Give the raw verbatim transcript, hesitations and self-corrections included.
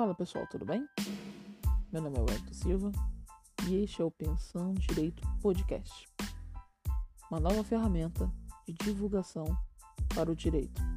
Fala pessoal, tudo bem? Meu nome é Wellington Silva e este é o Pensando Direito Podcast, uma nova ferramenta de divulgação para o direito.